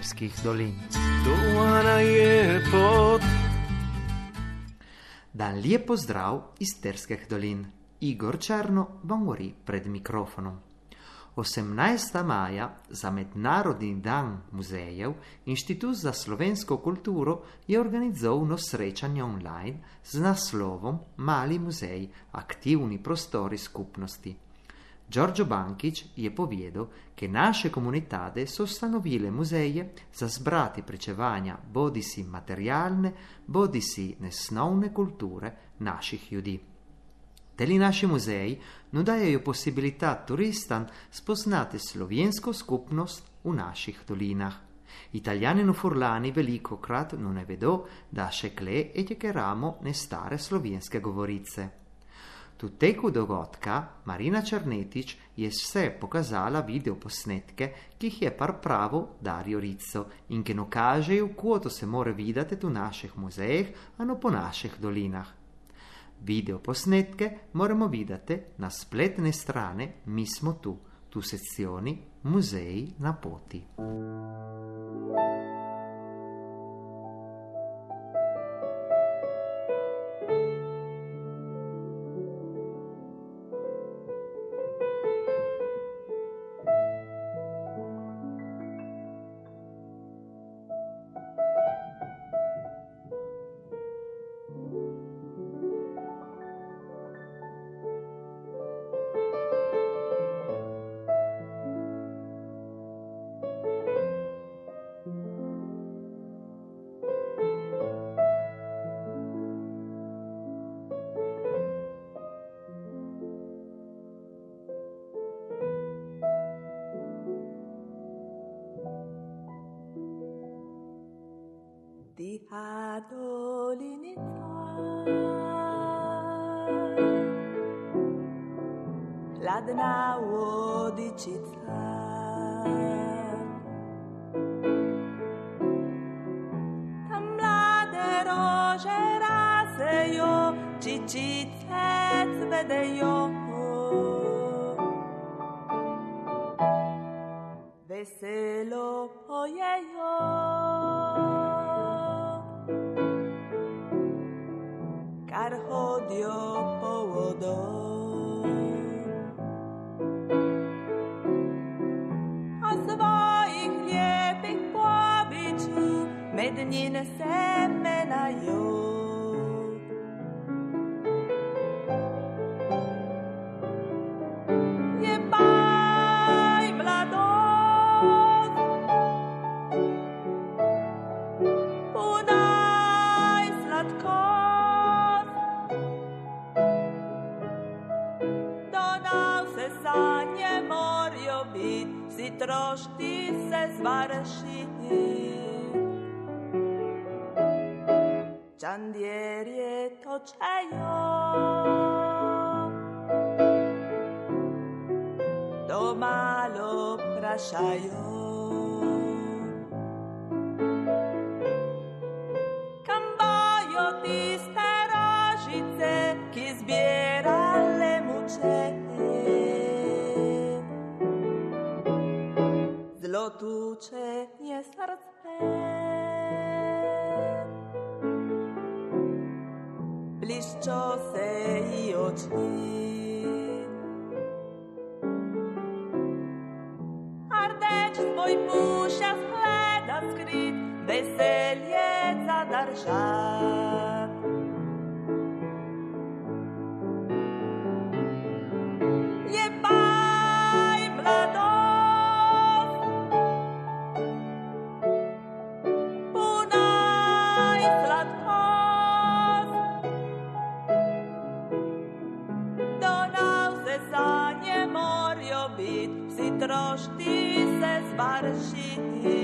Isterskih dolin. Dovana je pot. Dan lijep pozdrav iz Terskih dolin. Igor Černo vam govori pred mikrofonom. 18. maja za Mednarodni dan muzejev Inštitut za slovensko kulturo je organizoval srečanje online z naslovom Mali muzej, aktivni prostori skupnosti. Giorgio Bankić je povedal, che naše komunitade so ustanovile muzeje za zbrati pričevanja bodisi materialne, bodisi nesnovne kulture naših ljudi. Teli naši muzeji nudajajo possibilità turistam spoznati slovensko skupnost v naših dolinah. Italijani in furlani velikokrat ne vedo, da še kle etjekeramo ne stare slovenske govorice. Tu teku dogodka Marina Černetič je vse pokazala videoposnetke, ki jih je pripravil Dario Rizzo in ki nakažejo, kako se mora videti v naših muzejih, a no po naših dolinah. Videoposnetke moramo videti na spletne strane Mi smo tu sezioni Muzeji na poti. Die Adolinità, ladna vodičica, tam mlade rože rasejo, čičice cvedejo, veselo pojejo. Kar hodijo po vodo. A svojih lijepih pobiču med njine semenajo. Jebaj mladost, podaj sladkost, sanje morajo bit, vsi trošti se zvaršiti. Čandjerje točejo, to malo prašajo. Kam bojo tiste rožice, ki zbirale muče? Zlotuče je srce, bliščo se ji oči. Ardeč svoj puša skleda skrit, veselje zadržat. Jebaj mladost, podaj sladkost, do nas se sanje morajo bit, vsi trošti se zvaršiti.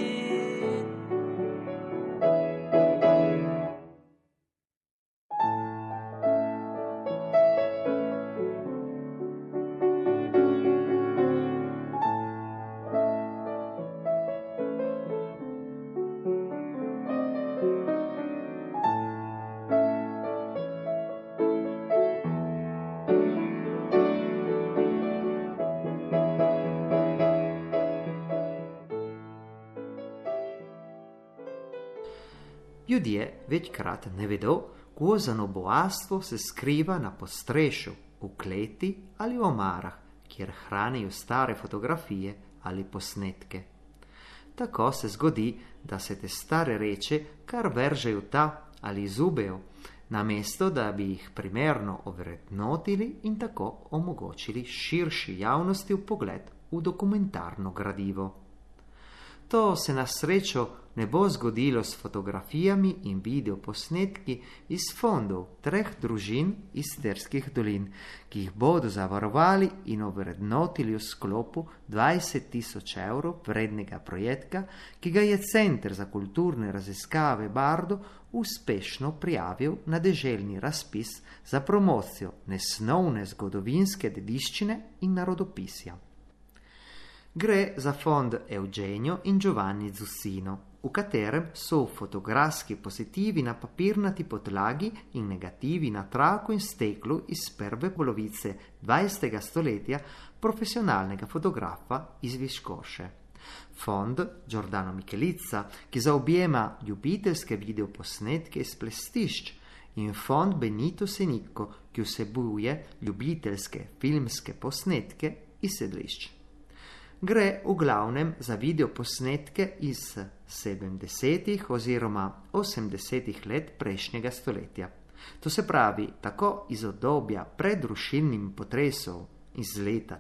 Ljudje večkrat ne vedo, kožano bogatstvo se skriva na postrešu, v kleti ali v omarah, kjer hranijo stare fotografije ali posnetke. Tako se zgodi, da se te stare reče kar vržejo ta ali zubejo, namesto da bi jih primerno ovrednotili in tako omogočili širši javnosti vpogled v dokumentarno gradivo. To se na srečo ne bo zgodilo s fotografijami in videoposnetki iz fondov 3 družin iz Sterskih dolin, ki jih bodo zavarovali in ovrednotili v sklopu 20.000 evrov vrednega projekta, ki ga je Center za kulturne raziskave Bardo uspešno prijavil na deželni razpis za promocijo nesnovne zgodovinske dediščine in narodopisja. Gre za fond Eugenio in Giovanni Zussino, v katerem so fotografski pozitivi na papirnati podlagi in negativi na traku in steklu iz prve polovice 20. stoletja profesionalnega fotografa iz Viškoše. Fond Giordano Micheliza, ki zaobjema ljubiteljske videoposnetke iz plestišč, in fond Benito Senicco, ki vsebuje ljubiteljske filmske posnetke iz sedlišč. Gre v glavnem za videoposnetke iz 70. oziroma 80. let prejšnjega stoletja. To se pravi tako iz obdobja pred rušilnim potresom iz leta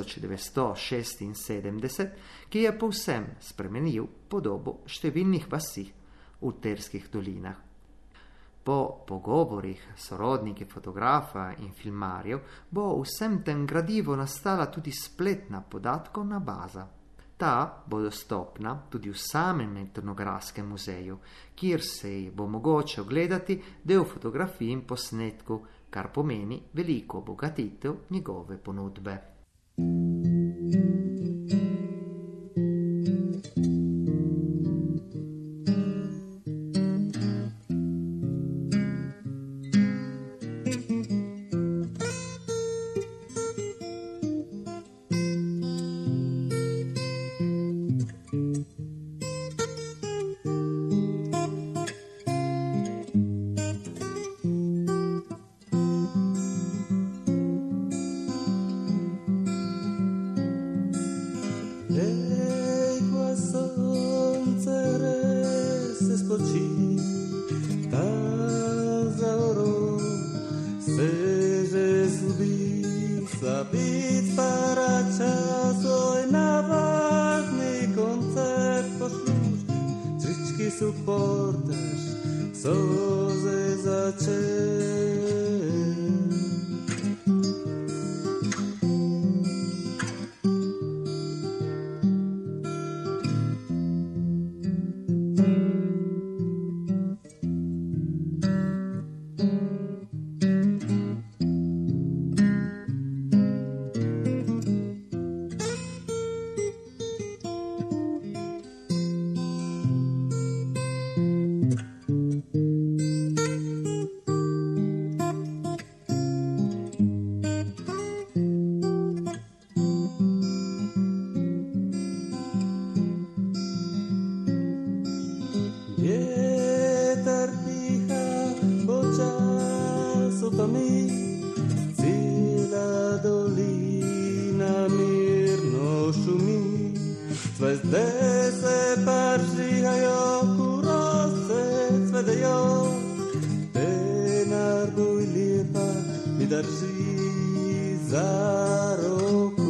1976, ki je povsem spremenil podobo številnih vasi v Terskih dolinah. Po pogovorih s sorodniki fotografa in filmarjev bo v vsem tem gradivu nastala tudi spletna podatkovna baza. Ta bo dostopna tudi v samem etnografskem muzeju, kjer se bo mogoče ogledati del fotografij in posnetkov, kar pomeni veliko obogatitev njegove ponudbe. Suportaš soze začel. Zvezde se paržihajo, kurosce cvedejo, denar boj lepa mi drži za roku.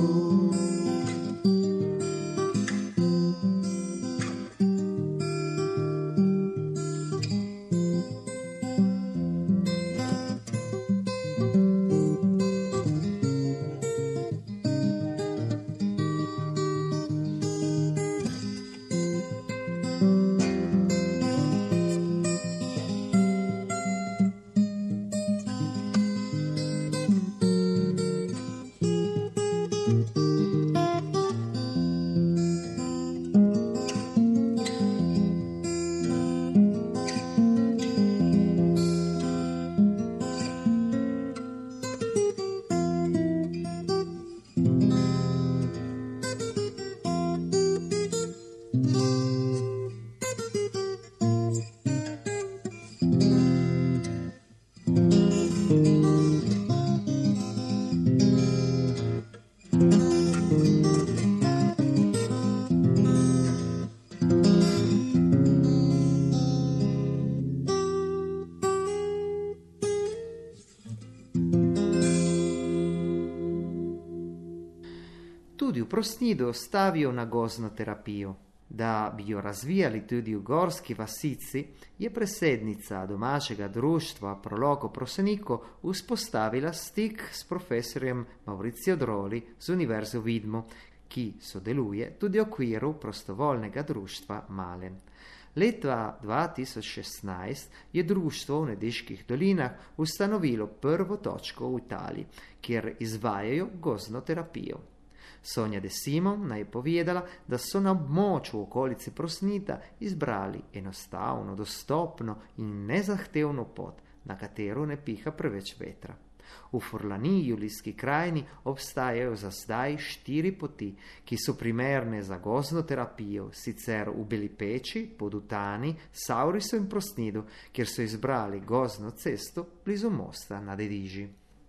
tudi v Prosnidu ostavijo na gozno terapijo. Da bi jo razvijali tudi v gorski vasici, je predsednica domačega društva Proloko Proseniko vzpostavila stik s profesorjem Mauricio Droli z Univerze v Vidmu, ki sodeluje tudi v okviru prostovoljnega društva Malen. Leta 2016 je društvo v Nediških dolinah ustanovilo prvo točko v Italiji, kjer izvajajo gozno terapijo. Sonja De Simon naj je povedala, da so na območju v okolici Prosnita izbrali enostavno, dostopno in nezahtevno pot, na katero ne piha preveč vetra. V Furlaniji, Julijski krajini, obstajajo za zdaj 4 poti, ki so primerne za gozno terapijo, sicer v Beli Peči, Podutani, Saurisu in Prosnidu, kjer so izbrali gozno cesto blizu mosta na Dediži.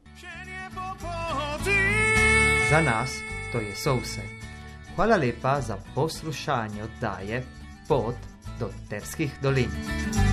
Za nas to je vse. Hvala lepa za poslušanje oddaje Pot do Terskih dolin.